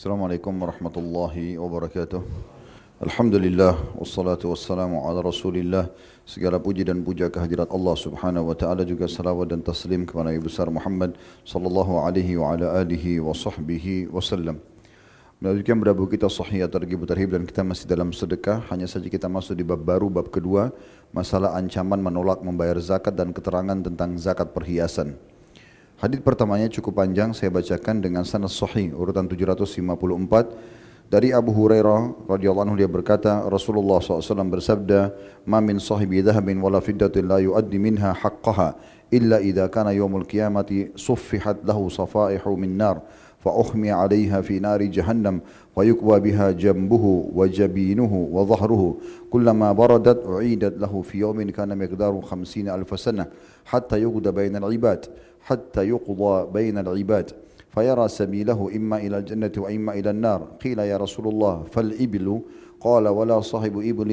Assalamualaikum warahmatullahi wabarakatuh. Alhamdulillah wassalatu wassalamu ala Rasulillah. Segala puji dan puja kehadirat Allah Subhanahu wa taala, juga salawat dan taslim kepada Nabi besar Muhammad sallallahu alaihi wa ala alihi wa sahbihi wasallam. Melanjutkan berabu kita Sahih At-Targhib Tarhib, dan kita masih dalam sedekah. Hanya saja kita masuk di bab baru, bab kedua, masalah ancaman menolak membayar zakat dan keterangan tentang zakat perhiasan. Hadis pertamanya cukup panjang, saya bacakan dengan sanad sahih urutan 754 dari Abu Hurairah radhiyallahu anhu. Dia berkata, Rasulullah SAW bersabda, "Ma min sahibi dhahabin wala fiddatin la yuaddi minha haqqaha illa idza kana yaumul qiyamati suffihat lahu safaihu min nar fa ukhmi 'alayha fi nari jahannam wa yukwa biha jambuhu wa jabinuhu wa dhahruhu kullama baradat u'idat lahu fi yawmin kana miqdaru 50,000 sanah hatta yuqda bainal ibad حتى يقضى بين العباد فيرى سبيله إما إلى الجنة وإما إلى النار قيل يا رسول الله فالإبل قال ولا صاحب إبل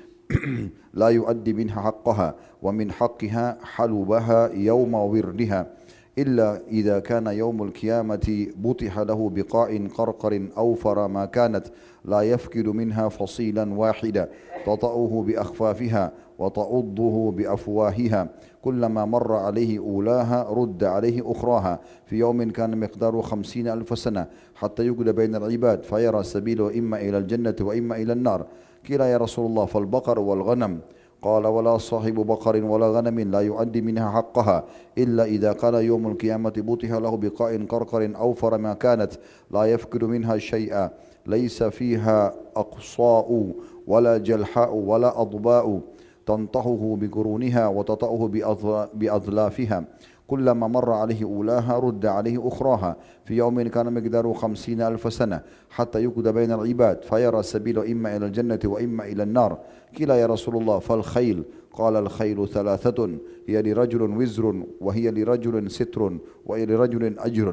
لا يؤدي منها حقها ومن حقها حلبها يوم وردها إلا إذا كان يوم القيامة بطح له بقاع قرقر أوفر ما كانت لا يفقد منها فصيلا واحدا تطأه بأخفافها وتعضه بأفواهها كلما مر عليه أولاها رد عليه أخراها في يوم كان مقداره 50,000 سنة حتى يقضى بين العباد فيرى سبيله إما إلى الجنة وإما إلى النار قيل يا رسول الله فالبقر والغنم قال ولا صاحب بقر ولا غنم لا يؤدي منها حقها إلا إذا كان يوم القيامة بطح له بقاء قرقر أوفر ما كانت لا يفقد منها شيئا ليس فيها أقصاء ولا جلحاء ولا أضباء تنطحه بقرونها وتطأه بأظلافها كلما مر عليه أولاها رد عليه أخراها في يوم كان مقداره 50,000 سنة حتى يقضى بين العباد فيرى السبيل إما إلى الجنة وإما إلى النار قيل يا رسول الله فالخيل قال الخيل ثلاثة هي لرجل وزر وهي لرجل ستر وهي لرجل أجر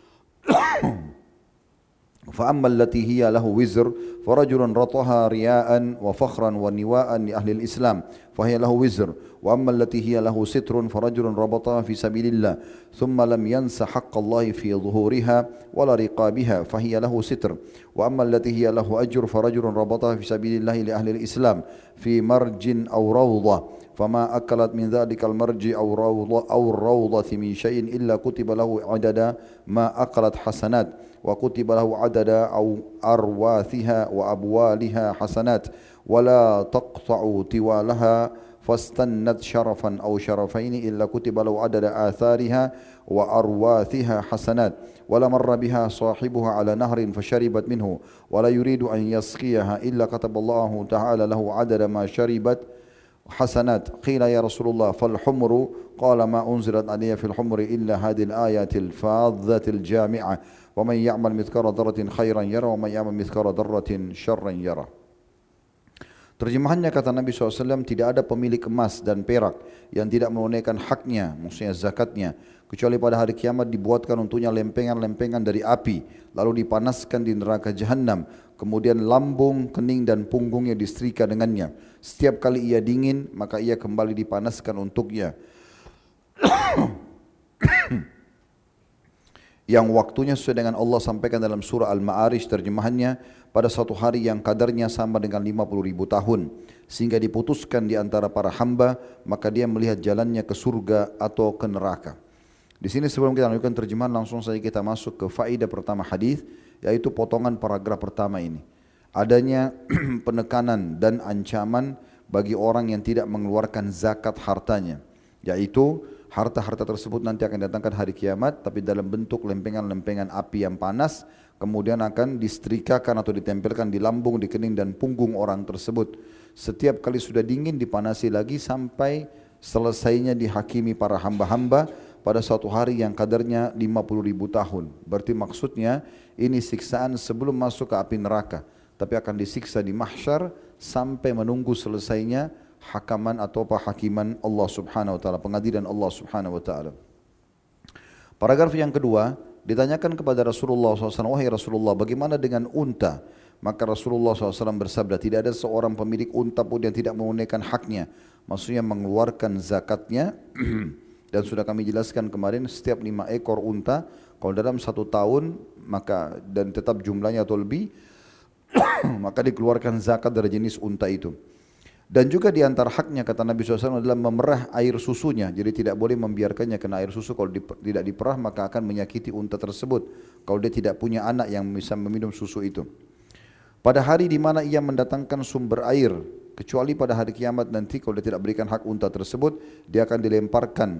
فأما التي هي له وزر فرجل رطها رياء وفخرا ونواء لأهل الإسلام فهي له وزر وأما التي هي له ستر فرجل ربطها في سبيل الله ثم لم ينس حق الله في ظهورها ولا رقابها فهي له ستر وأما التي هي له أجر فرجل ربطها في سبيل الله لأهل الإسلام في مرج أو روضة فما أكلت من ذلك المرج أو الروضة من شيء إلا كتب له عدد ما أكلت حسنات وكتب له عدد أو أرواثها وأبوالها حسنات ولا تقطع طوالها فاستنت شرفا أو شرفين إلا كتب له عدد آثارها وأرواثها حسنات ولا مر بها صاحبها على نهر فشربت منه ولا يريد أن يسقيها إلا كتب الله تعالى له عدد ما شربت حسنات قيل يا رسول الله فالحمر قال ما أنزلت علي في الحمر إلا هذه الآيات الفاظة الجامعة ومن يعمل مثقال ذرة خيرا يرى ومن يعمل مثقال ذرة شرا يرى. Terjemahannya kata Nabi SAW, tidak ada pemilik emas dan perak yang tidak menunaikan haknya, maksudnya zakatnya, kecuali pada hari kiamat dibuatkan untuknya lempengan-lempengan dari api, lalu dipanaskan di neraka jahanam, kemudian lambung, kening dan punggungnya disetrika dengannya. Setiap kali ia dingin, maka ia kembali dipanaskan untuknya. Yang waktunya sesuai dengan Allah sampaikan dalam surah Al-Ma'arij, terjemahannya, pada suatu hari yang kadarnya sama dengan 50,000 tahun, sehingga diputuskan di antara para hamba, maka dia melihat jalannya ke surga atau ke neraka. Di sini sebelum kita lanjutkan terjemahan, langsung saja kita masuk ke faedah pertama hadis, yaitu potongan paragraf pertama ini. Adanya penekanan dan ancaman bagi orang yang tidak mengeluarkan zakat hartanya, yaitu harta-harta tersebut nanti akan datangkan hari kiamat, tapi dalam bentuk lempengan-lempengan api yang panas, kemudian akan disetrikakan atau ditempelkan di lambung, di kening dan punggung orang tersebut. Setiap kali sudah dingin dipanasi lagi sampai selesainya dihakimi para hamba-hamba pada suatu hari yang kadarnya 50,000 tahun. Berarti maksudnya ini siksaan sebelum masuk ke api neraka, tapi akan disiksa di mahsyar sampai menunggu selesainya hakaman atau hakiman Allah Subhanahu wa taala, pengadilan Allah Subhanahu wa taala. Paragraf yang kedua, ditanyakan kepada Rasulullah SAW, wahai Rasulullah, bagaimana dengan unta? Maka Rasulullah SAW bersabda, tidak ada seorang pemilik unta pun yang tidak menunaikan haknya, maksudnya mengeluarkan zakatnya Dan sudah kami jelaskan kemarin, setiap 5 ekor unta, kalau dalam 1 tahun, maka dan tetap jumlahnya atau lebih, maka dikeluarkan zakat dari jenis unta itu. Dan juga di antara haknya kata Nabi SAW adalah memerah air susunya. Jadi tidak boleh membiarkannya kena air susu. Kalau tidak diperah maka akan menyakiti unta tersebut. Kalau dia tidak punya anak yang bisa meminum susu itu. Pada hari di mana ia mendatangkan sumber air, kecuali pada hari kiamat nanti kalau dia tidak berikan hak unta tersebut, dia akan dilemparkan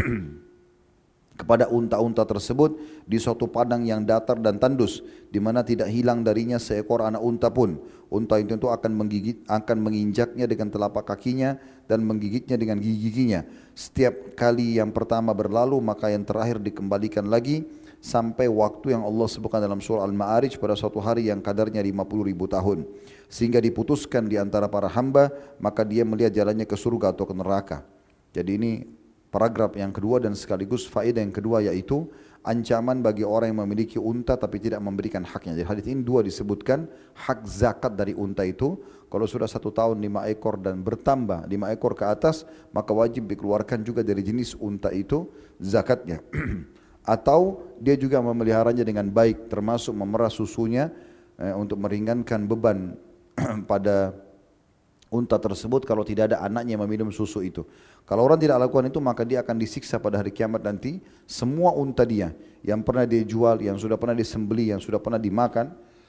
kepada unta-unta tersebut di suatu padang yang datar dan tandus, di mana tidak hilang darinya seekor anak unta pun. Unta itu akan menginjaknya dengan telapak kakinya dan menggigitnya dengan gigi-giginya. Setiap kali yang pertama berlalu, maka yang terakhir dikembalikan lagi sampai waktu yang Allah sebutkan dalam surah Al-Ma'arij pada suatu hari yang kadarnya 50.000 tahun. Sehingga diputuskan di antara para hamba, maka dia melihat jalannya ke surga atau ke neraka. Jadi ini paragraf yang kedua dan sekaligus faedah yang kedua, yaitu ancaman bagi orang yang memiliki unta tapi tidak memberikan haknya. Jadi hadis ini dua disebutkan, hak zakat dari unta itu kalau sudah 1 tahun 5 ekor dan bertambah 5 ekor ke atas, maka wajib dikeluarkan juga dari jenis unta itu zakatnya. Atau dia juga memeliharanya dengan baik, termasuk memerah susunya untuk meringankan beban pada unta tersebut kalau tidak ada anaknya yang meminum susu itu. Kalau orang tidak lakukan itu, maka dia akan disiksa pada hari kiamat nanti. Semua unta dia yang pernah dia jual, yang sudah pernah disembeli, yang sudah pernah dimakan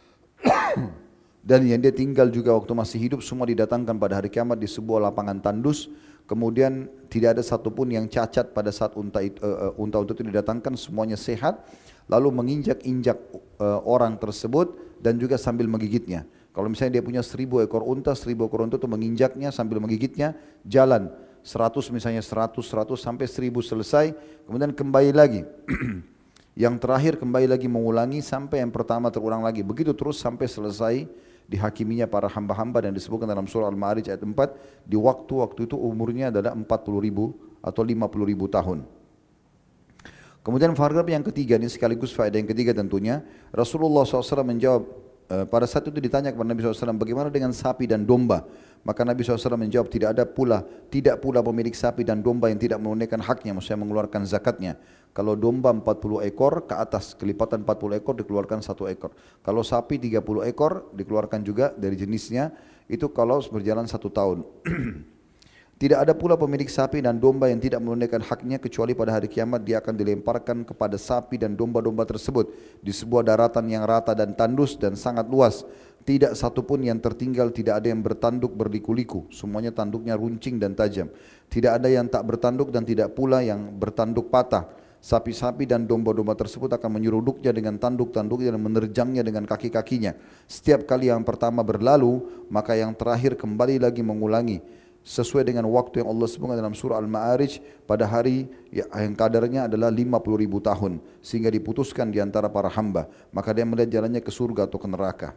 dan yang dia tinggal juga waktu masih hidup, semua didatangkan pada hari kiamat di sebuah lapangan tandus. Kemudian tidak ada satupun yang cacat pada saat unta itu didatangkan, semuanya sehat, lalu menginjak-injak orang tersebut dan juga sambil menggigitnya. Kalau misalnya dia punya 1.000 ekor unta, 1.000 ekor unta itu menginjaknya sambil menggigitnya, jalan 100 misalnya 100 sampai 1.000 selesai, kemudian kembali lagi. Yang terakhir kembali lagi mengulangi sampai yang pertama terulang lagi. Begitu terus sampai selesai dihakiminya para hamba-hamba, dan disebutkan dalam surah Al-Ma'arij ayat 4, di waktu itu umurnya adalah 40.000 atau 50.000 tahun. Kemudian paragraf yang ketiga, ini sekaligus faedah yang ketiga tentunya, Rasulullah SAW menjawab, pada saat itu ditanya kepada Nabi SAW, bagaimana dengan sapi dan domba? Maka Nabi SAW menjawab, tidak pula pemilik sapi dan domba yang tidak menunaikan haknya, maksudnya mengeluarkan zakatnya. Kalau domba 40 ekor ke atas, kelipatan 40 ekor dikeluarkan 1 ekor. Kalau sapi 30 ekor dikeluarkan juga dari jenisnya, itu kalau berjalan 1 tahun. Tidak ada pula pemilik sapi dan domba yang tidak menunaikan haknya, kecuali pada hari kiamat dia akan dilemparkan kepada sapi dan domba-domba tersebut di sebuah daratan yang rata dan tandus dan sangat luas. Tidak satupun yang tertinggal, tidak ada yang bertanduk berliku-liku, semuanya tanduknya runcing dan tajam. Tidak ada yang tak bertanduk dan tidak pula yang bertanduk patah. Sapi-sapi dan domba-domba tersebut akan menyeruduknya dengan tanduk-tanduknya dan menerjangnya dengan kaki-kakinya. Setiap kali yang pertama berlalu, maka yang terakhir kembali lagi mengulangi, sesuai dengan waktu yang Allah sebutkan dalam surah Al-Ma'arij pada hari yang kadarnya adalah 50.000 tahun, sehingga diputuskan di antara para hamba, maka dia melihat jalannya ke surga atau ke neraka.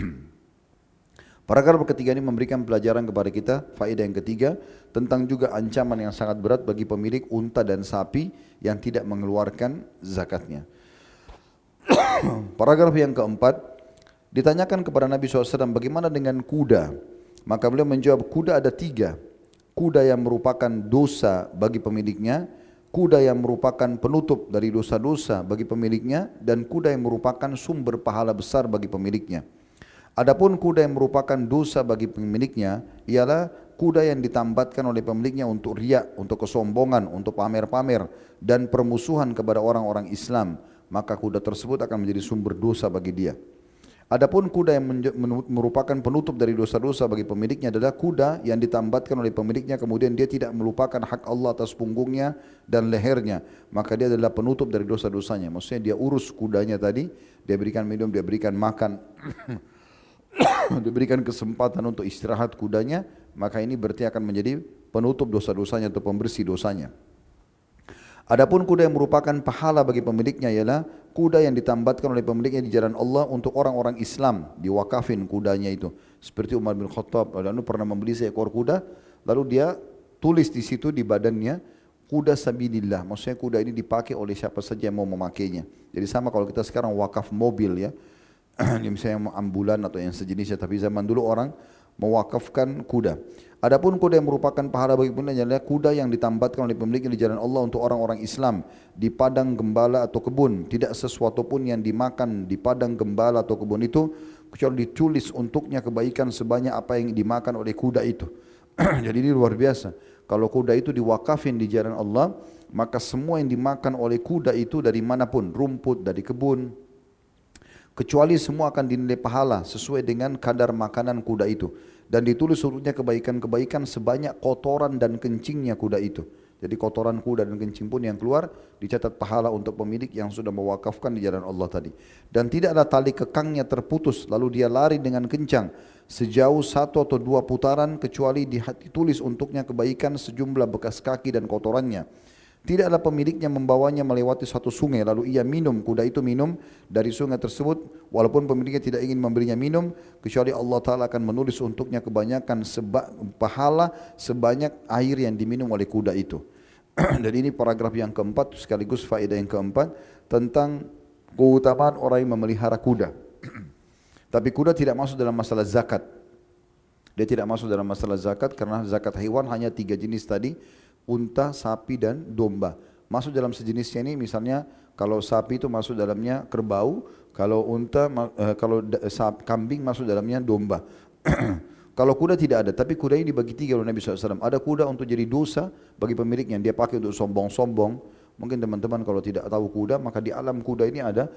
Paragraf ketiga ini memberikan pelajaran kepada kita, faedah yang ketiga, tentang juga ancaman yang sangat berat bagi pemilik unta dan sapi yang tidak mengeluarkan zakatnya. Paragraf yang keempat, ditanyakan kepada Nabi SAW, bagaimana dengan kuda? Maka beliau menjawab, kuda ada 3. Kuda yang merupakan dosa bagi pemiliknya, kuda yang merupakan penutup dari dosa-dosa bagi pemiliknya, dan kuda yang merupakan sumber pahala besar bagi pemiliknya. Adapun kuda yang merupakan dosa bagi pemiliknya ialah kuda yang ditambatkan oleh pemiliknya untuk riak, untuk kesombongan, untuk pamer-pamer dan permusuhan kepada orang-orang Islam, maka kuda tersebut akan menjadi sumber dosa bagi dia. Adapun kuda yang merupakan penutup dari dosa-dosa bagi pemiliknya adalah kuda yang ditambatkan oleh pemiliknya, kemudian dia tidak melupakan hak Allah atas punggungnya dan lehernya, maka dia adalah penutup dari dosa-dosanya. Maksudnya dia urus kudanya tadi, dia berikan minum, dia berikan makan, diberikan kesempatan untuk istirahat kudanya, maka ini berarti akan menjadi penutup dosa-dosanya atau pembersih dosanya. Adapun kuda yang merupakan pahala bagi pemiliknya ialah kuda yang ditambatkan oleh pemiliknya di jalan Allah untuk orang-orang Islam, diwakafin kudanya itu. Seperti Umar bin Khattab lalu pernah membeli seekor kuda, lalu dia tulis di situ di badannya kuda sabilillah. Maksudnya kuda ini dipakai oleh siapa saja yang mau memakainya. Jadi sama kalau kita sekarang wakaf mobil ya. Misalnya ambulan atau yang sejenisnya, tapi zaman dulu orang mewakafkan kuda. Adapun kuda yang merupakan pahala bagi pemiliknya adalah kuda yang ditambatkan oleh pemiliknya di jalan Allah untuk orang-orang Islam di padang gembala atau kebun. Tidak sesuatu pun yang dimakan di padang gembala atau kebun itu kecuali ditulis untuknya kebaikan sebanyak apa yang dimakan oleh kuda itu. Jadi ini luar biasa. Kalau kuda itu diwakafin di jalan Allah, maka semua yang dimakan oleh kuda itu dari manapun, rumput, dari kebun, kecuali semua akan dinilai pahala sesuai dengan kadar makanan kuda itu. Dan ditulis untuknya kebaikan-kebaikan sebanyak kotoran dan kencingnya kuda itu. Jadi kotoran kuda dan kencing pun yang keluar dicatat pahala untuk pemilik yang sudah mewakafkan di jalan Allah tadi. Dan tidaklah tali kekangnya terputus lalu dia lari dengan kencang sejauh 1 atau 2 putaran kecuali ditulis untuknya kebaikan sejumlah bekas kaki dan kotorannya. Tidaklah pemiliknya membawanya melewati suatu sungai lalu ia minum, kuda itu minum dari sungai tersebut walaupun pemiliknya tidak ingin memberinya minum kecuali Allah Ta'ala akan menulis untuknya kebanyakan pahala sebanyak air yang diminum oleh kuda itu. Dan ini paragraf yang keempat sekaligus faedah yang keempat tentang keutamaan orang yang memelihara kuda. Tapi kuda tidak masuk dalam masalah zakat. Dia tidak masuk dalam masalah zakat karena zakat hewan hanya 3 jenis tadi, unta, sapi dan domba. Masuk dalam sejenisnya ini misalnya kalau sapi itu masuk dalamnya kerbau, kalau unta, kambing masuk dalamnya domba. Kalau kuda tidak ada, tapi kuda ini dibagi 3 oleh Nabi SAW. Ada kuda untuk jadi dosa bagi pemiliknya, dia pakai untuk sombong-sombong. Mungkin teman-teman kalau tidak tahu kuda, maka di alam kuda ini ada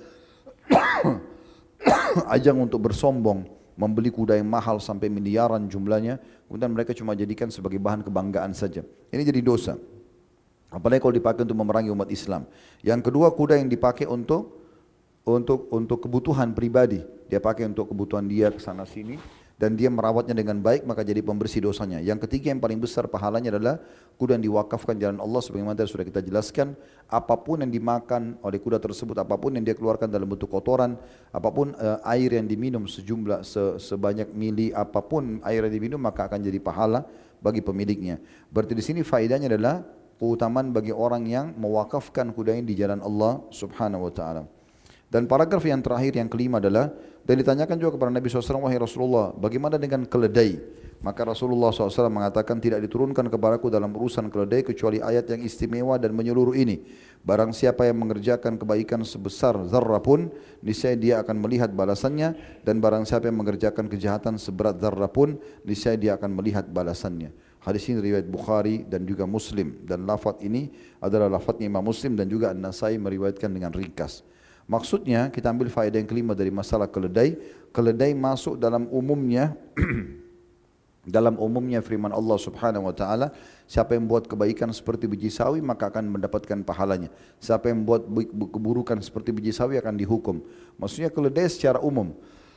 ajang untuk bersombong, membeli kuda yang mahal sampai miliaran jumlahnya, kemudian mereka cuma jadikan sebagai bahan kebanggaan saja. Ini jadi dosa. Apalagi kalau dipakai untuk memerangi umat Islam. Yang kedua, kuda yang dipakai untuk kebutuhan pribadi. Dia pakai untuk kebutuhan dia ke sana sini dan dia merawatnya dengan baik maka jadi pembersih dosanya. Yang ketiga yang paling besar pahalanya adalah kuda yang diwakafkan jalan Allah sebagaimana tadi sudah kita jelaskan. Apapun yang dimakan oleh kuda tersebut, apapun yang dia keluarkan dalam bentuk kotoran, apapun air yang diminum sebanyak mili apapun air yang diminum maka akan jadi pahala bagi pemiliknya. Berarti di sini faedahnya adalah keutamaan bagi orang yang mewakafkan kudanya di jalan Allah Subhanahu wa taala. Dan paragraf yang terakhir yang kelima adalah dan ditanyakan juga kepada Nabi SAW, wahai Rasulullah, bagaimana dengan keledai? Maka Rasulullah SAW mengatakan tidak diturunkan kepadaku dalam urusan keledai kecuali ayat yang istimewa dan menyeluruh ini. Barang siapa yang mengerjakan kebaikan sebesar zarrah pun, niscaya dia akan melihat balasannya. Dan barang siapa yang mengerjakan kejahatan seberat zarrah pun, niscaya dia akan melihat balasannya. Hadis ini riwayat Bukhari dan juga Muslim. Dan lafaz ini adalah lafaznya Imam Muslim dan juga An-Nasai meriwayatkan dengan ringkas. Maksudnya kita ambil faedah yang kelima dari masalah keledai. Keledai masuk dalam umumnya dalam umumnya firman Allah Subhanahu wa taala, siapa yang buat kebaikan seperti biji sawi maka akan mendapatkan pahalanya. Siapa yang buat keburukan seperti biji sawi akan dihukum. Maksudnya keledai secara umum.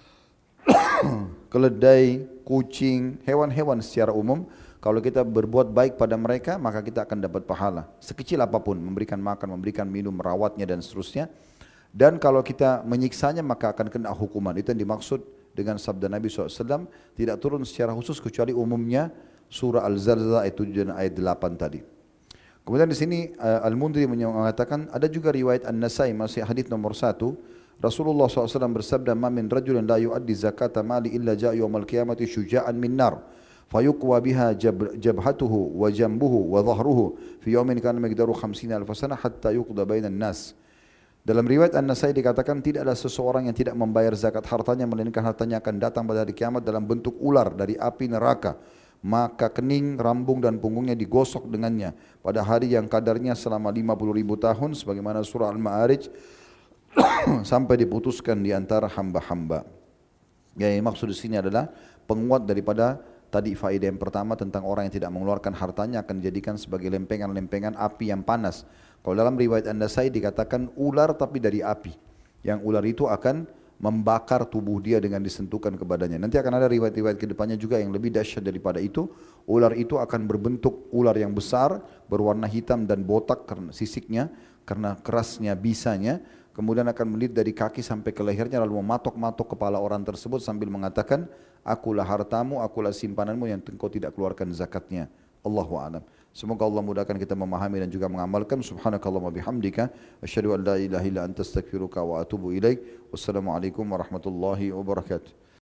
Keledai, kucing, hewan-hewan secara umum, kalau kita berbuat baik pada mereka maka kita akan dapat pahala. Sekecil apapun, memberikan makan, memberikan minum, merawatnya dan seterusnya. Dan kalau kita menyiksanya maka akan kena hukuman. Itu yang dimaksud dengan sabda Nabi SAW. Tidak turun secara khusus kecuali umumnya surah Al-Zalzalah ayat 7 dan ayat 8 tadi. Kemudian di sini Al-Mundhiri mengatakan ada juga riwayat An-Nasai masih hadis nomor 1. Rasulullah SAW bersabda, "Ma min rajulin la yu'addi zakata mali illa ja'a yawmal qiyamati syuja'an min nar." Fayuqwa biha jabhatuhu wa jambuhu wa dhahruhu fi yawmin kana miqdaru 50,000 sana hatta yuqda bainan nas. Dalam riwayat An-Nasai dikatakan tidak ada seseorang yang tidak membayar zakat hartanya melainkan hartanya akan datang pada hari kiamat dalam bentuk ular dari api neraka. Maka kening, rambung dan punggungnya digosok dengannya pada hari yang kadarnya selama 50,000 tahun sebagaimana surah Al-Ma'arij sampai diputuskan di antara hamba-hamba. Yang maksud di sini adalah penguat daripada tadi faedah yang pertama tentang orang yang tidak mengeluarkan hartanya akan dijadikan sebagai lempengan-lempengan api yang panas. Kalau dalam riwayat An-Nasai dikatakan ular tapi dari api. Yang ular itu akan membakar tubuh dia dengan disentuhkan kepadanya. Nanti akan ada riwayat-riwayat ke depannya juga yang lebih dahsyat daripada itu. Ular itu akan berbentuk ular yang besar, berwarna hitam dan botak karena sisiknya, karena kerasnya bisanya. Kemudian akan melilit dari kaki sampai ke lehernya lalu mematok-matok kepala orang tersebut sambil mengatakan, akulah hartamu, akulah simpananmu yang engkau tidak keluarkan zakatnya. Allahu a'lam. Semoga Allah mudahkan kita memahami dan juga mengamalkan. Subhanakallahumma bihamdika asyhadu an la ilaha illa anta astaghfiruka wa atubu ilaik. Wassalamualaikum warahmatullahi wabarakatuh.